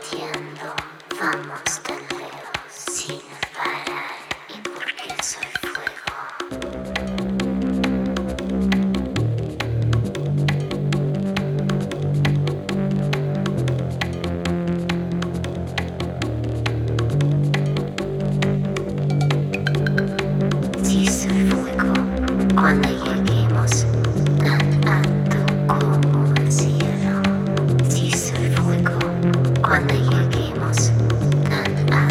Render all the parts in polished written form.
latiendo, vamos tan lejos sin parar. ¿Y por qué soy fuego? Si soy fuego, cuando lleguemos tan alto como el cielo. Si soy fuego, cuando lleguemos tan alto.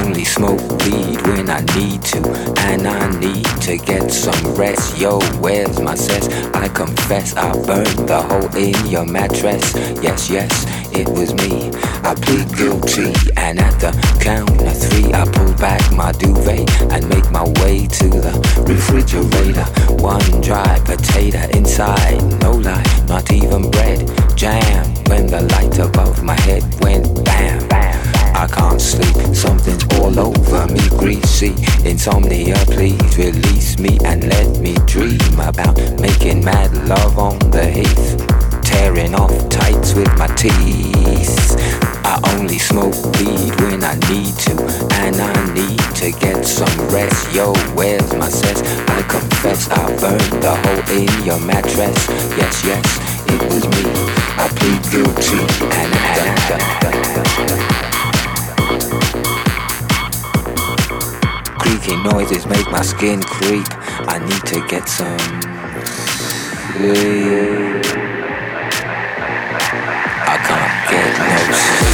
only smoke weed when I need to, and I need to get some rest. Yo, where's my cess? I confess I burned the hole in your mattress. Yes, yes, it was me. I plead guilty, and at the count of three, I pull back my duvet and make my way to the refrigerator. One dry potato inside, no lie, not even bread. Jam when the light above my head went bam, bam. I can't sleep, something's all over me, greasy. Insomnia, please release me and let me dream about making mad love on the heath, tearing off tights with my teeth. I only smoke weed when I need to, and I need to get some rest. Yo, where's my cess? I confess I burned the hole in your mattress. Yes, yes, it was me. I plead guilty, and creaky noises make my skin creep. I need to get some sleep. I can't get no sleep.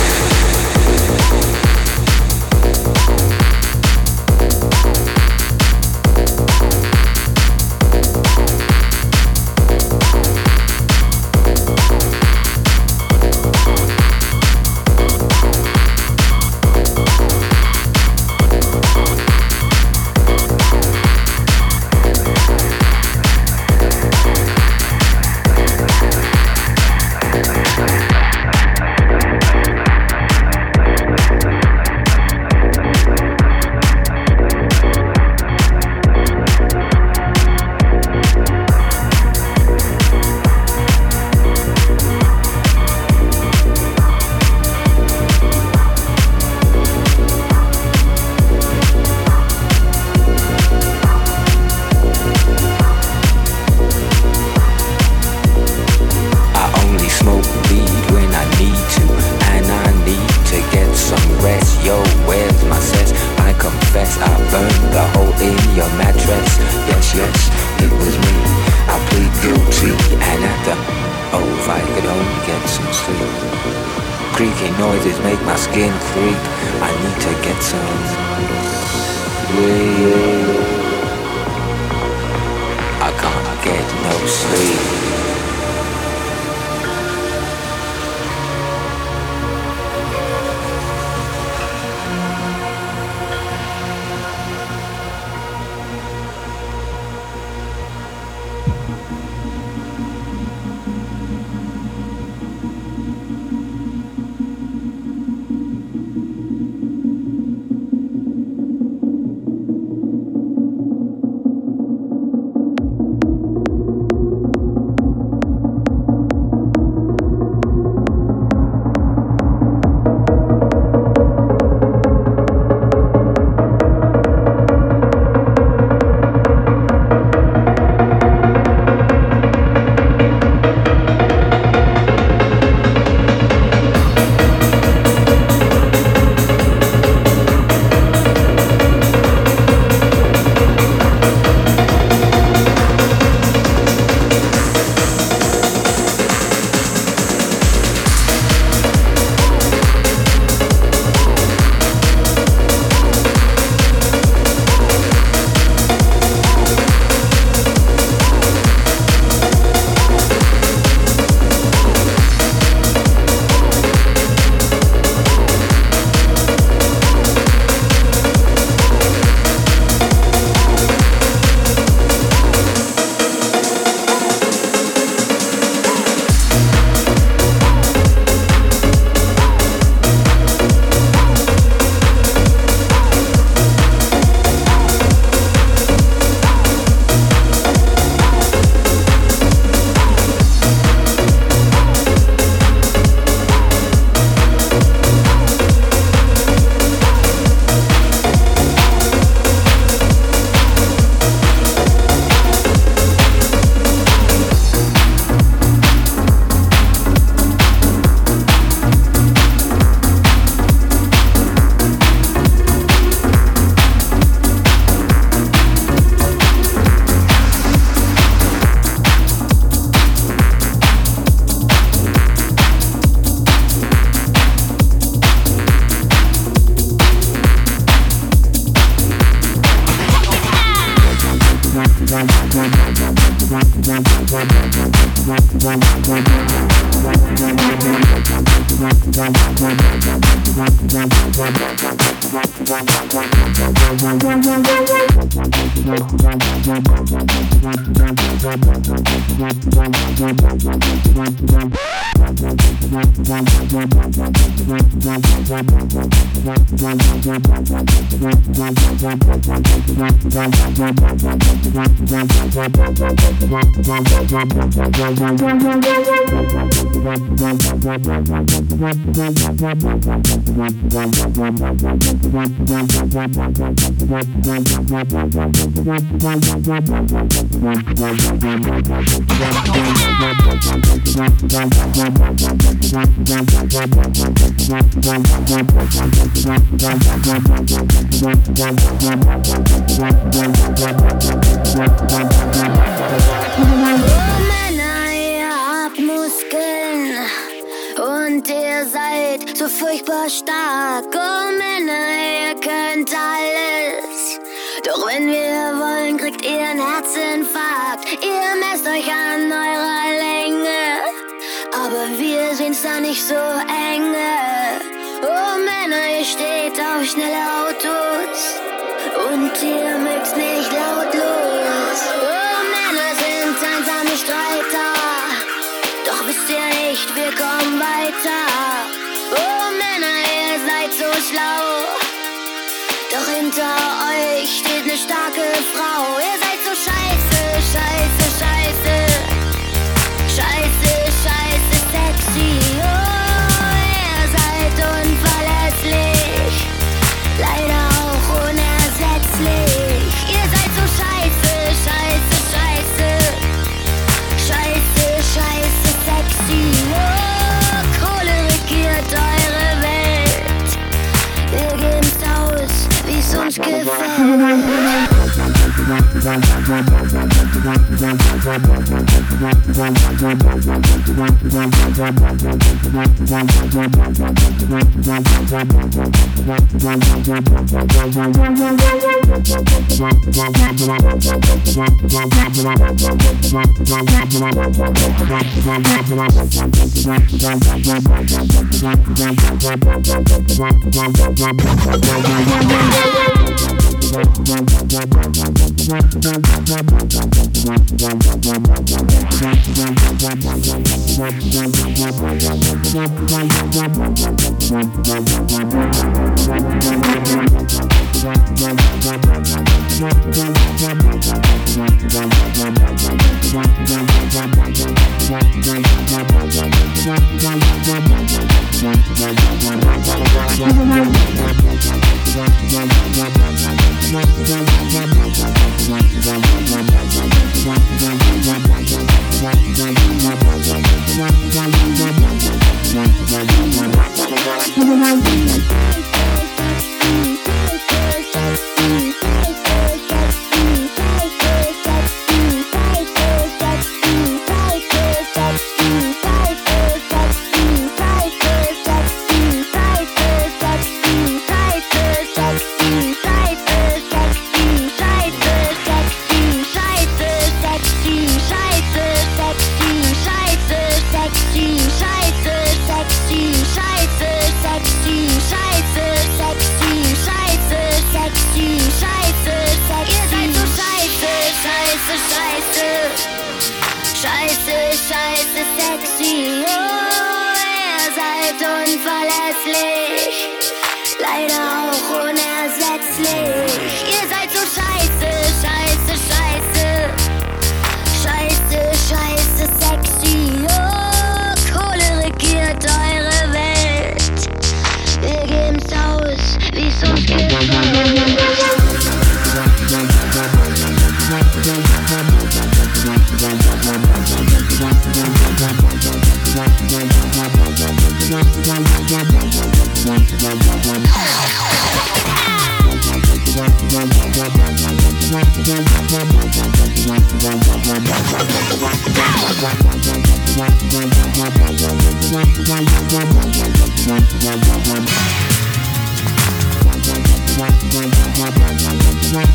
Und ihr seid so furchtbar stark. Oh Männer, ihr könnt alles. Doch wenn wir wollen, kriegt ihr einen Herzinfarkt. Ihr messt euch an eurer Länge, aber wir sehen's da nicht so enge. Oh Männer, ihr steht auf schnelle Autos und ihr mögt's nicht lautlos. Oh Männer sind einsame Streiter, doch wisst ihr nicht, wir kommen weiter. Oh Männer, ihr seid so schlau, doch hinter euch steht eine starke Frau. Ihr seid so scheiße, scheiße, scheiße, scheiße, scheiße, sexy. Oh, ihr seid unverlässlich, leider auch unersetzlich. Ihr seid so scheiße, scheiße, scheiße, scheiße, scheiße, sexy. Oh, Kohle regiert eure Welt. Wir geben's aus, wie's uns gefällt.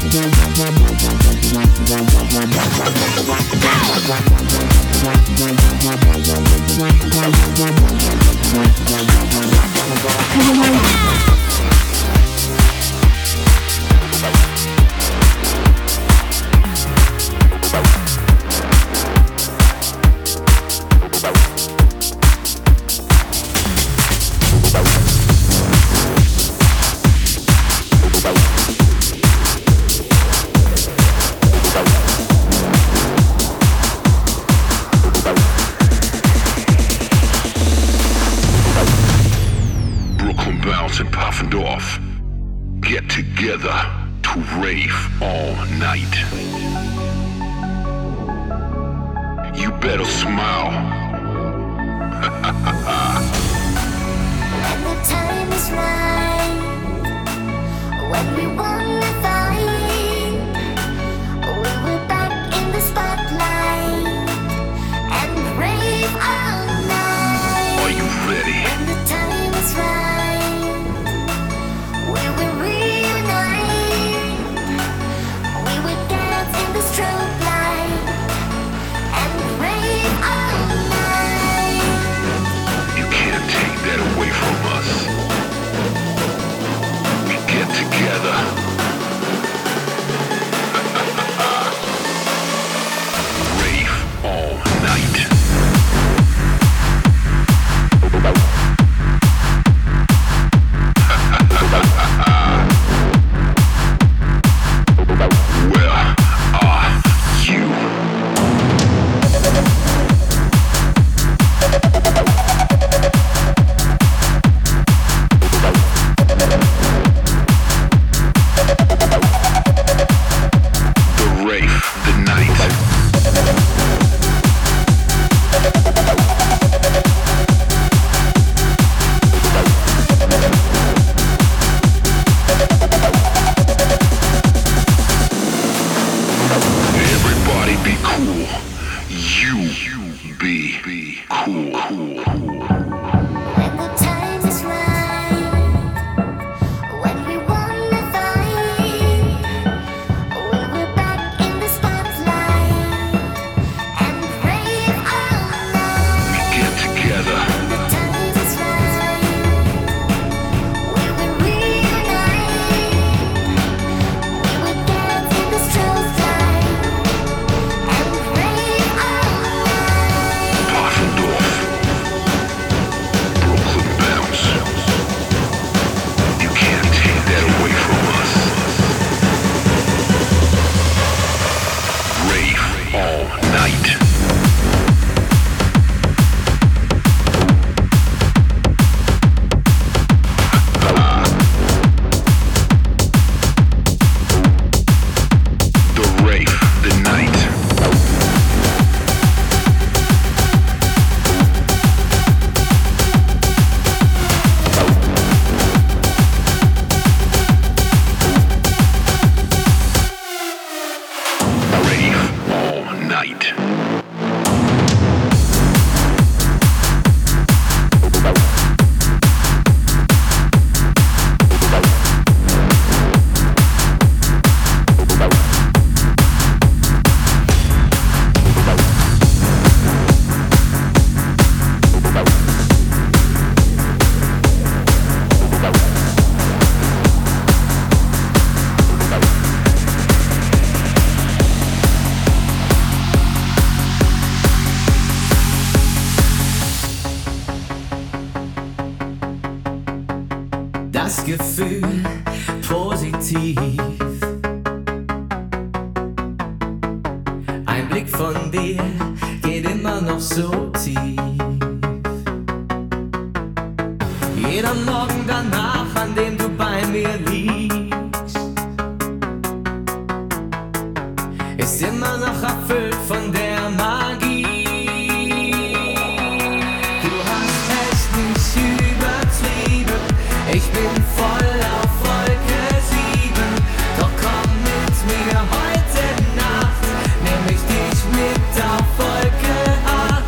das Gefühl positiv. Ein Blick von dir geht immer noch so tief. Jeder Morgen danach, an dem du bei mir liegst, ist immer noch erfüllt von der Magie. Du hast es nicht übertrieben, ich bin voll auf Wolke 7. Doch komm mit mir heute Nacht, nehm ich dich mit auf Wolke 8.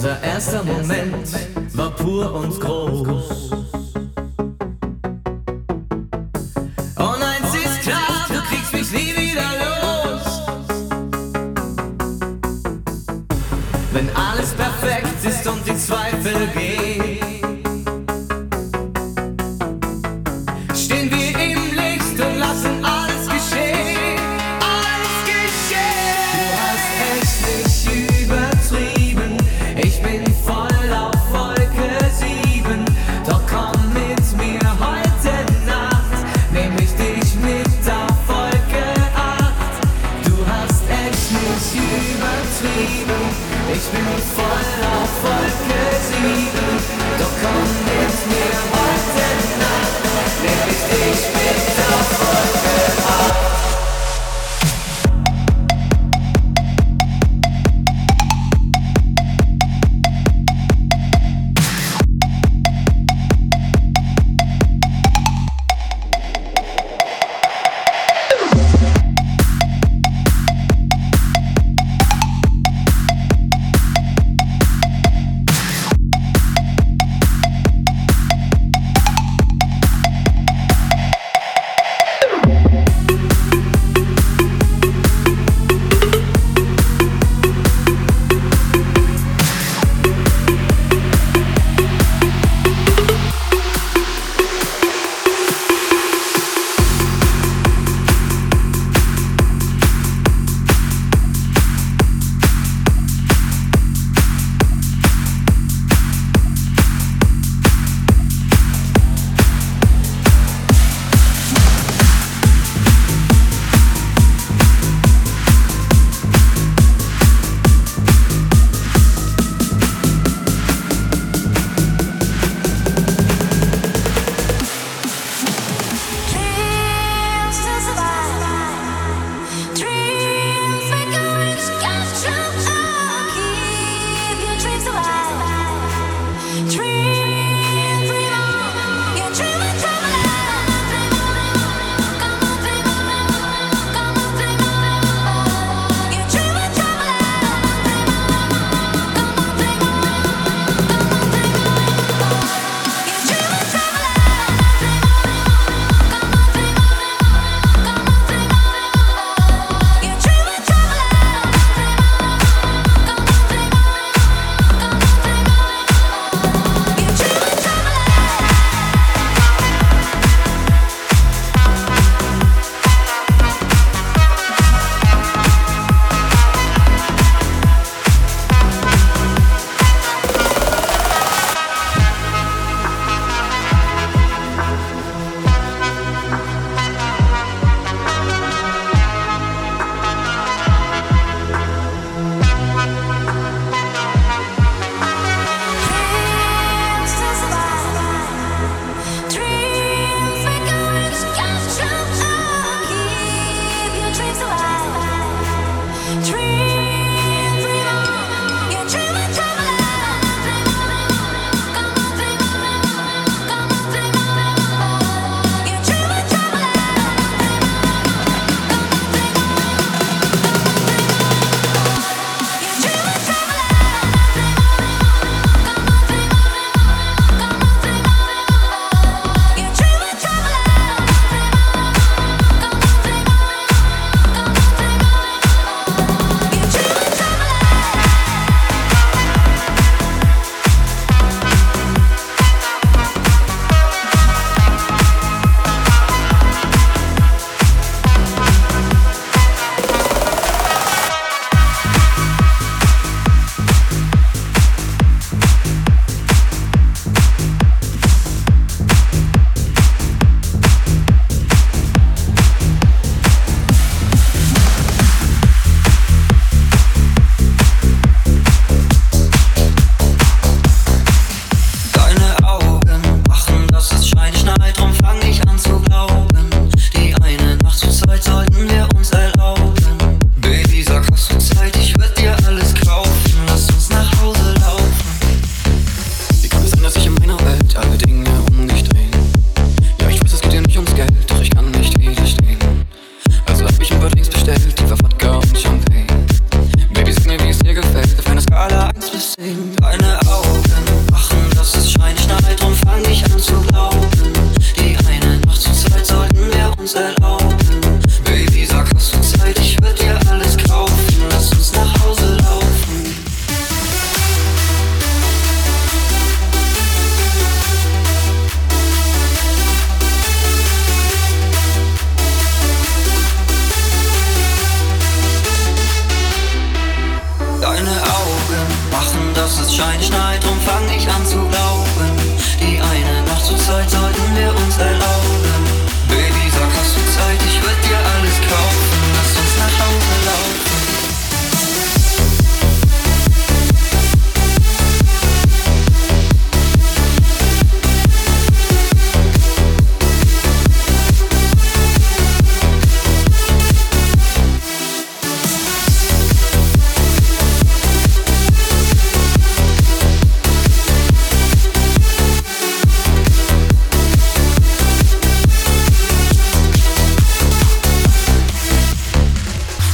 Unser erster Moment war pur und groß. Und eins ist klar, du kriegst mich nie wieder los. Wenn alles perfekt ist und die Zweifel gehen, stehen wir im Licht und lassen alles geschehen. Alles geschehen. Du hast echt nicht übertrieben. Ich bin voll auf Wolke 7. Doch komm mit mir heute Nacht, nehm ich dich mit auf Wolke 8. Du hast echt nicht übertrieben. Ich bin voll auf Wolke 7. Doch komm mit mir heute Nacht, nehm ich dich mit auf Wolke 8.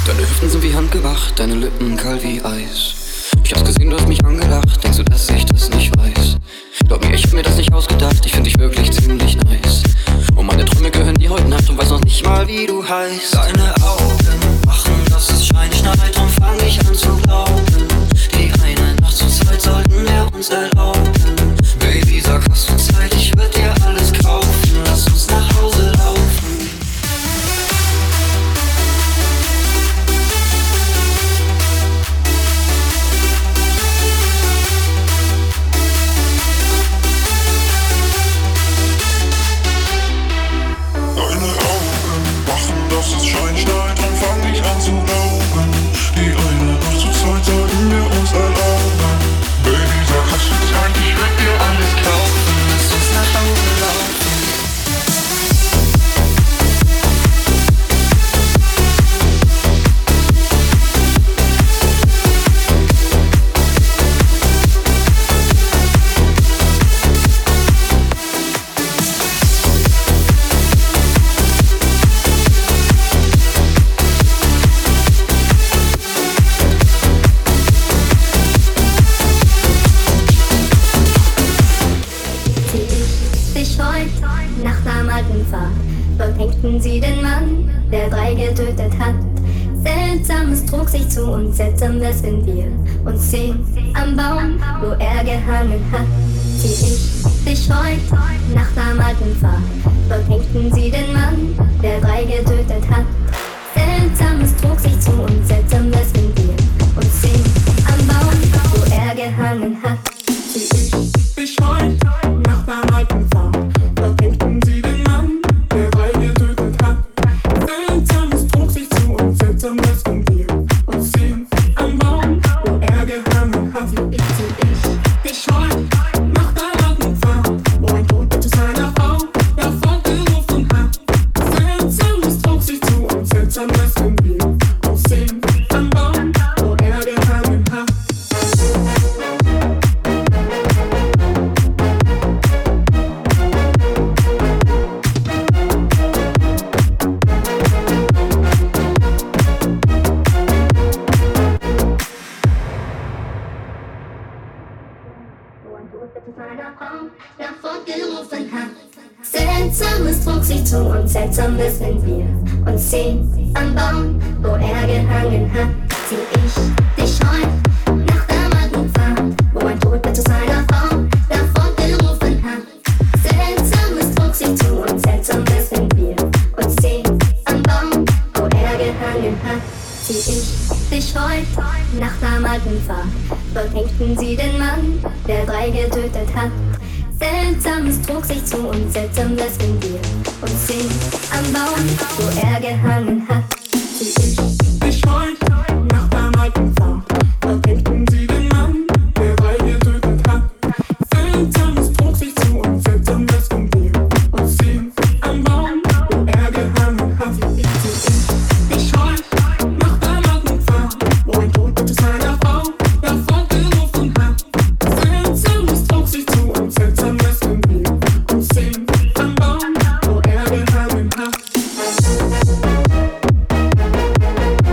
Deine Hüften sind wie handgemacht, deine Lippen kalt wie Eis. Ich hab's gesehen, du hast mich angelacht, denkst du, dass ich das nicht weiß? Glaub mir, ich hab mir das nicht ausgedacht, ich find dich wirklich ziemlich nice. Und meine Träume gehören dir heute Nacht und weiß noch nicht mal, wie du heißt. Deine Augen machen, dass es Schein schneit und fang ich an zu glauben. Die eine Nacht zur Zeit sollten wir uns erlauben. Baby, sag, hast du Zeit, ich würd dir alles kaufen. Lass uns nach Hause laufen. Sie den Mann, der 3 getötet hat. Seltsames trug sich zu und Seltsames, wenn wir uns sehen am Baum, wo er gehangen hat. Zieh ich dich heut nach einem alten Pfad. Dort hängten sie den Mann, der 3 getötet hat. Seltsames trug sich zu und Seltsames, wenn wir uns sehen am Baum, wo er gehangen hat. Zieh ich dich heut nach einem alten Pfad. Dort hängten sie den Mann, der 3 getötet hat. Seltsames trug sich zu und Seltsames, wenn wir uns sehen am Baum, wo er gehangen hat. Ich dich heut nach deinem alten Pfad, wo ein Toter zu seiner Frau davon gerufen hat. Seltsames trug sich zu und Seltsames, wenn wir uns sehen am Baum, wo er gehangen hat. Seltsames trug sich zu und Seltsames, wenn wir uns sehen am Baum, wo er gehangen hat. Zieh ich dich heut nach dem alten Pfad, wo ein Toter zu seiner Frau davon gerufen hat. Seltsames trug sich zu und Seltsames, wenn wir uns sehen am Baum, wo er gehangen hat. Zieh ich dich heut nach dem alten Pfad, dort hängten sie den Mann, der 3 getötet hat. Seltsames trug sich zu und Seltsames, wenn wir uns sehen am Baum, wo er gehangen hat. Zieh ich dich heut nach dem alten Pfad, dort hängten sie den Mann, der 3 getötet hat. Seltsames trug sich zu und Seltsames, wenn wir uns sehen am Baum, wo er gehangen hat. Zieh ich dich heut nach dem alten Pfad, wo ein Toter zu seiner Frau davon gerufen hat. Seltsames trug sich zu und Seltsames, wenn wir uns sehen am Baum, wo er gehangen hat.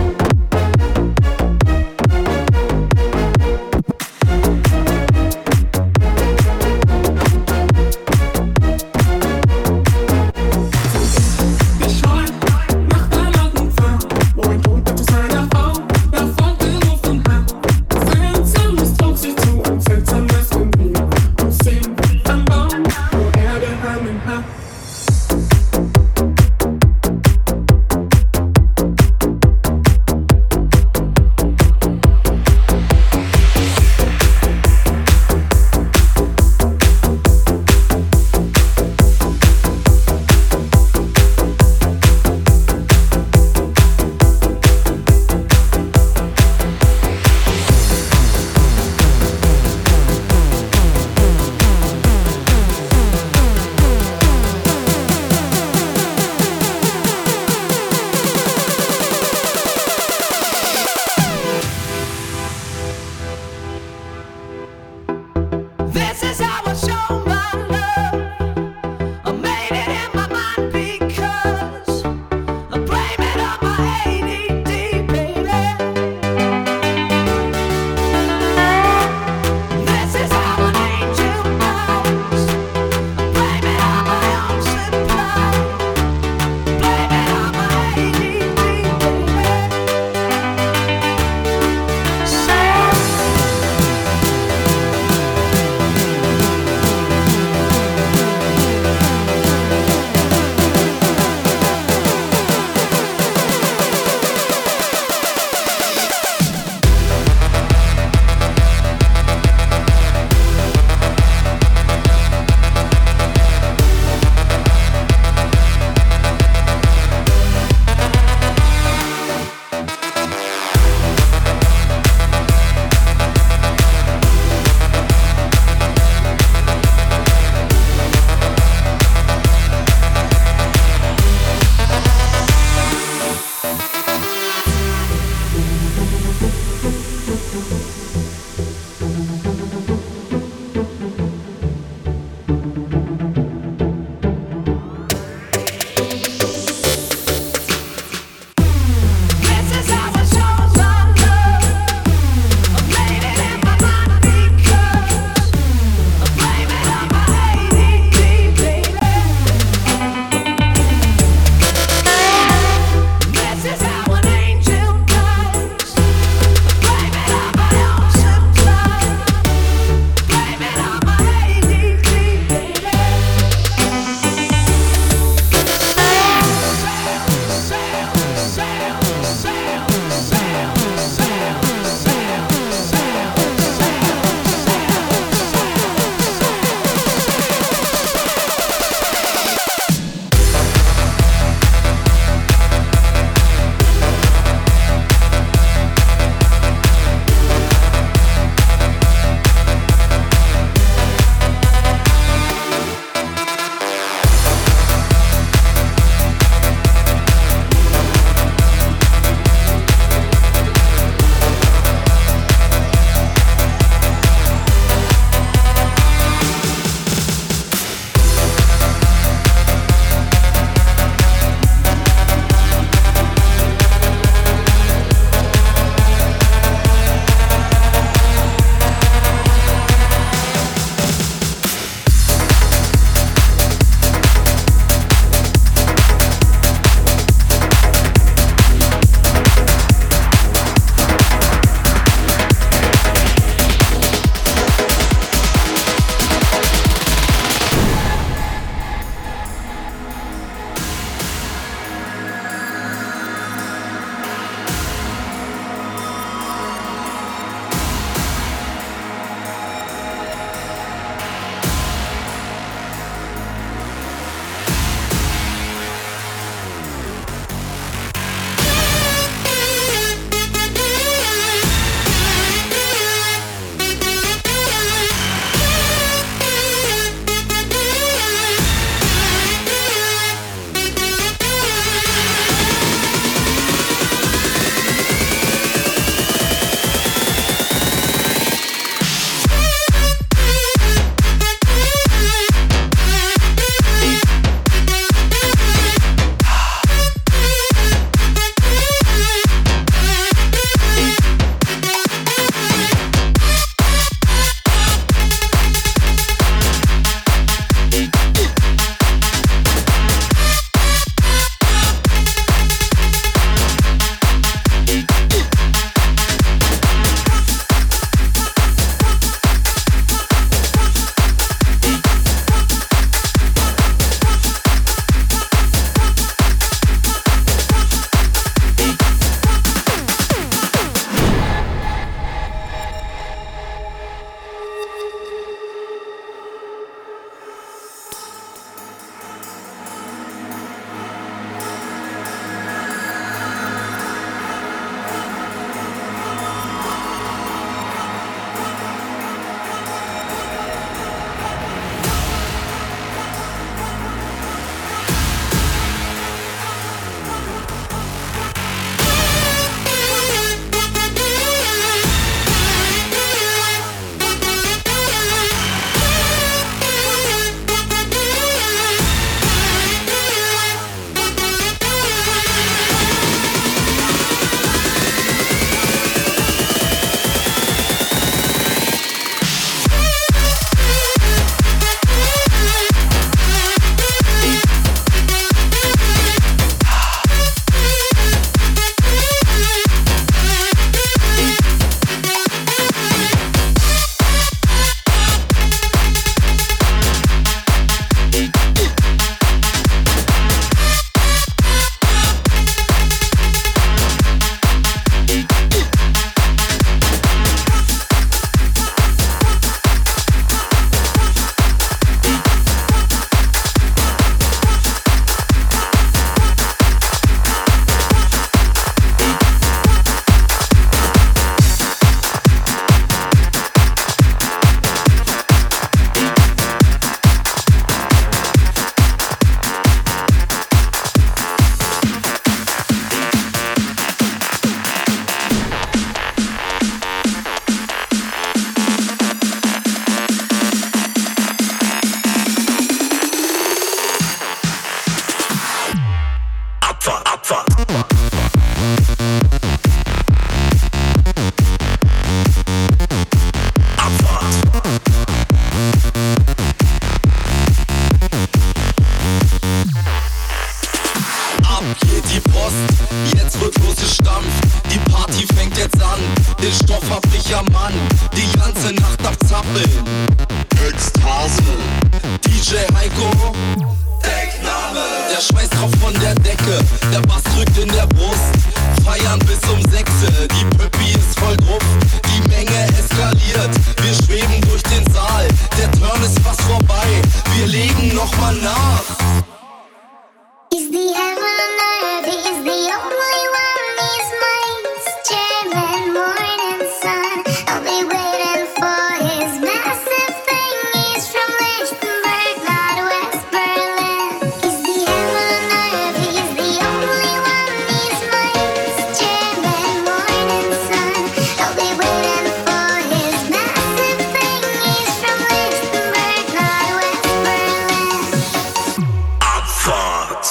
fängt jetzt an. Den Stoff hab ich am Mann, die ganze Nacht am Zappeln. Ekstase. DJ Heiko, Deckname. Der Schweiß tropft von der Decke, der Bass drückt in der Brust. Feiern bis um 6, die Pöppi ist voll drauf. Die Menge eskaliert, wir schweben durch den Saal. Der Turn ist fast vorbei, wir legen nochmal nach. Is the heaven on earth, he is the only one. These minds, German morning sun. I'll be waiting for his massive thing. He's from Lichtenberg, not West Berlin. Is the heaven on earth, he is the only one. These minds, German morning sun. I'll be waiting for his massive thing. He's from Lichtenberg, not West Berlin. Abfahrt.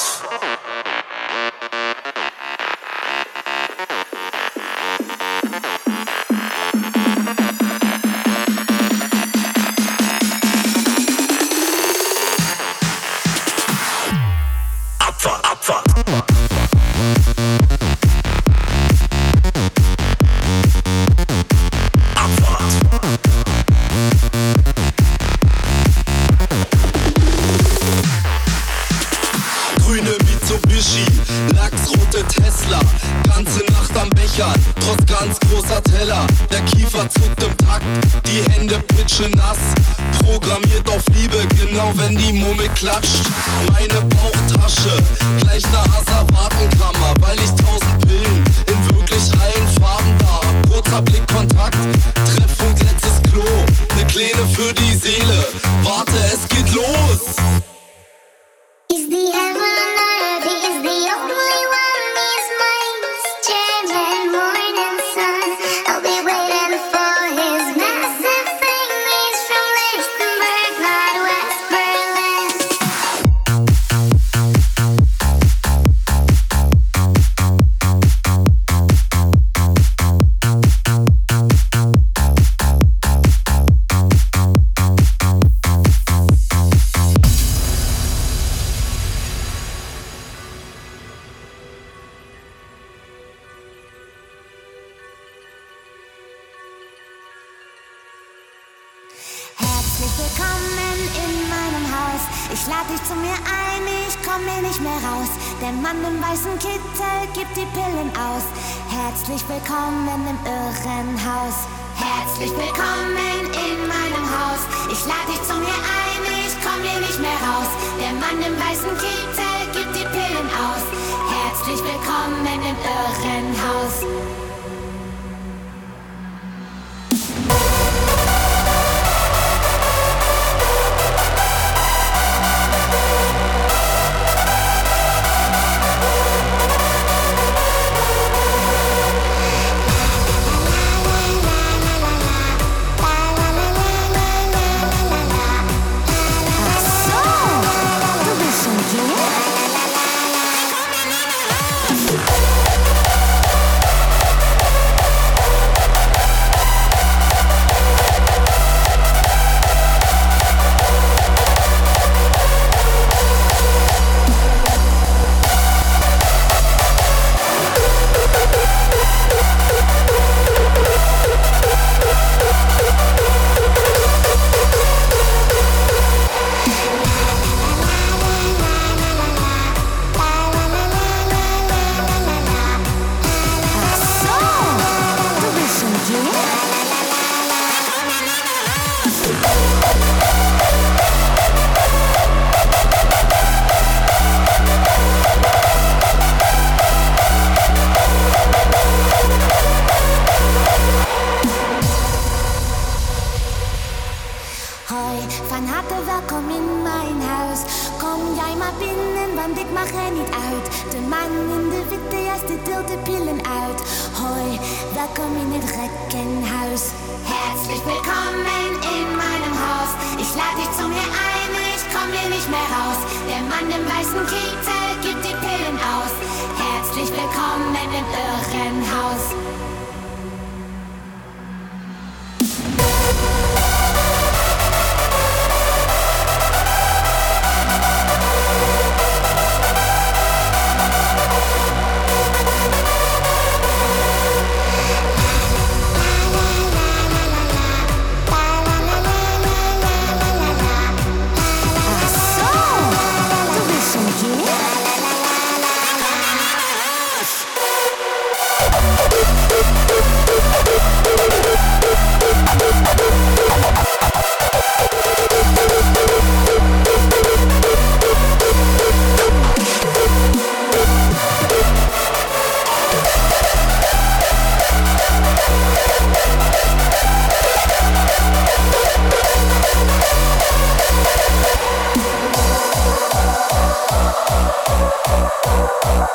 Abfahrt, Abfahrt. Abfahrt. Grüne Mitsubishi, lachsrote Tesla, ganze Nacht am Bechern, trotz ganz großer Teller. Der Kiefer zuckt im Takt, die Hände pitschen nass. Programmiert auf Liebe, genau wenn die Murmel klatscht. Meine Bauchtasche, gleich ne Asservatenkammer, weil ich 1000 Pillen in wirklich allen Farben da hab. Kurzer Blickkontakt, Treffpunkt letztes Klo, ne Kleine für die Seele. Warte, es geht los! Is the heaven on earth, he is the only one. These minds, German morning sun. I'll be waiting for his massive thing. He's from Lichtenberg, not West Berlin. Herzlich willkommen in meinem Haus. Ich lade dich zu mir ein, ich komm hier nicht mehr raus. Der Mann im weißen Kittel gibt die Pillen aus. Herzlich willkommen im Irrenhaus. Herzlich willkommen in meinem Haus. Ich lade dich zu mir ein, ich komm hier nicht mehr raus. Der Mann im weißen Kittel gibt die Pillen aus. Herzlich willkommen im Irrenhaus. Welkom in het Reckenhaus. Herzlich willkommen in meinem Haus. Ich lade dich zu mir ein, ich komm hier nicht mehr raus. Der Mann im weißen Kittel gibt die Pillen aus. Herzlich willkommen im Irrenhaus.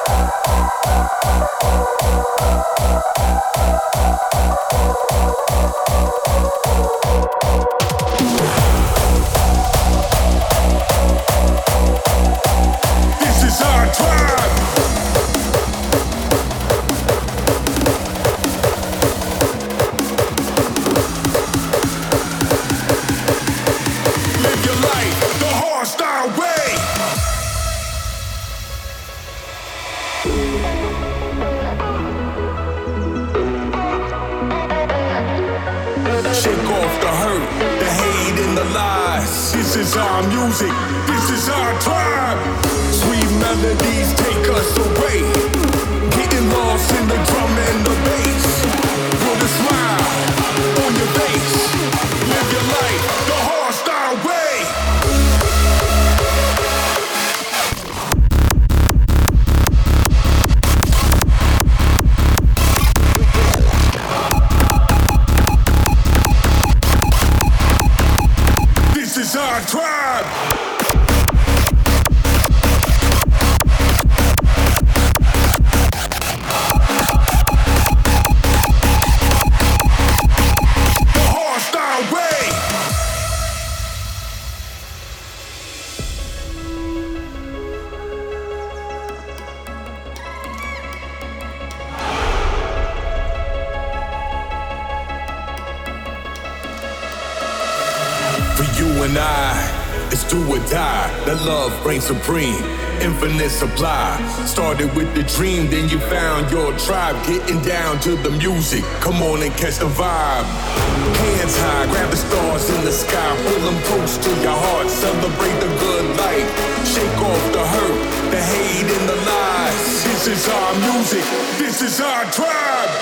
Supreme, infinite supply. Started with the dream, then you found your tribe. Getting down to the music, come on and catch the vibe. Hands high, grab the stars in the sky. Pull them close to your heart, celebrate the good life. Shake off the hurt, the hate and the lies. This is our music, this is our tribe.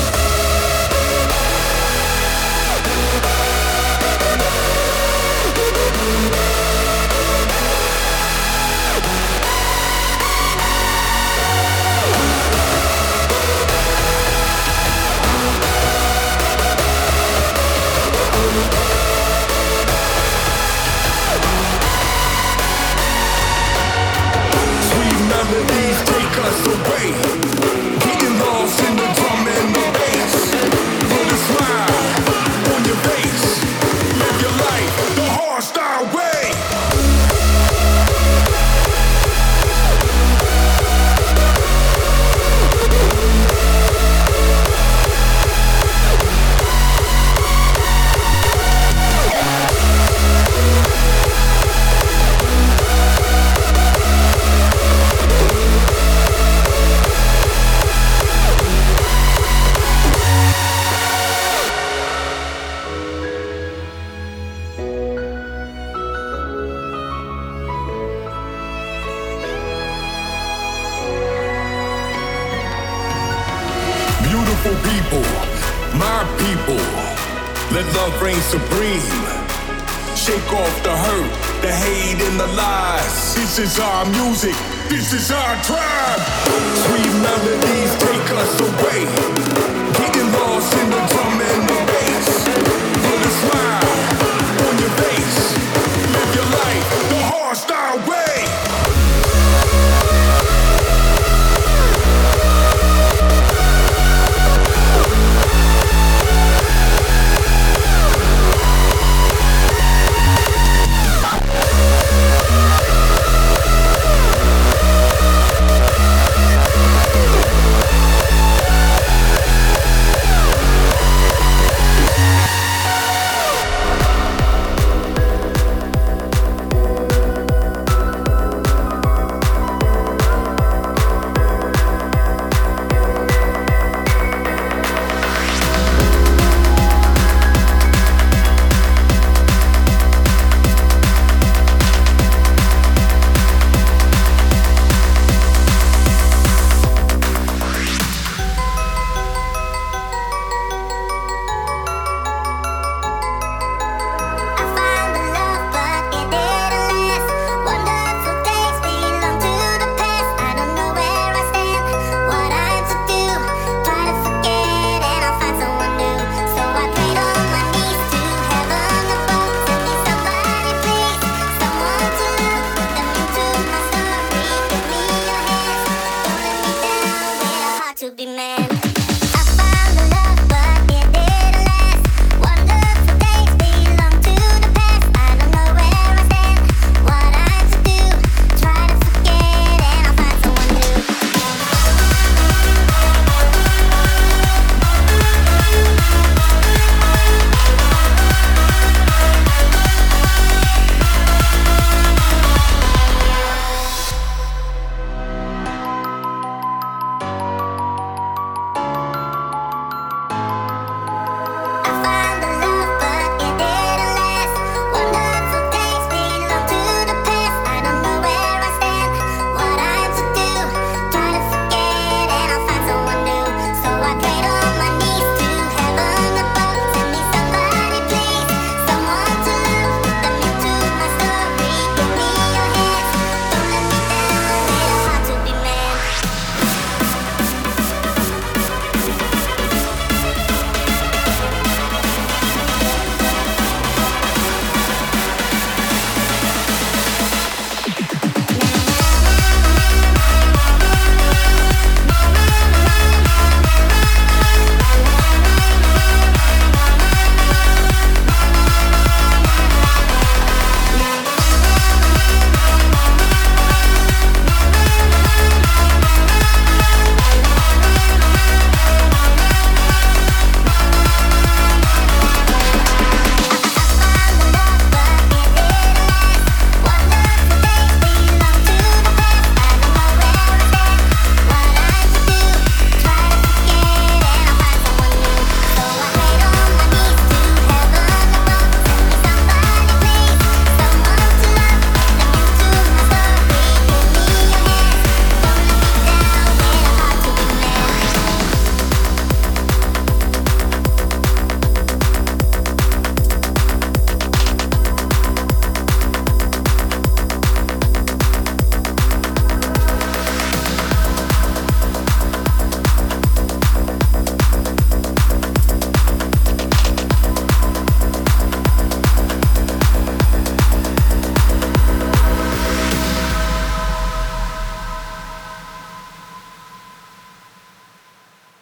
Melodies take us away, getting lost in the drum and the bass. Put a smile on your face, live your life the hardstyle way. People, my people, let love reign supreme. Shake off the hurt, the hate and the lies. This is our music, this is our tribe. Sweet melodies take us away,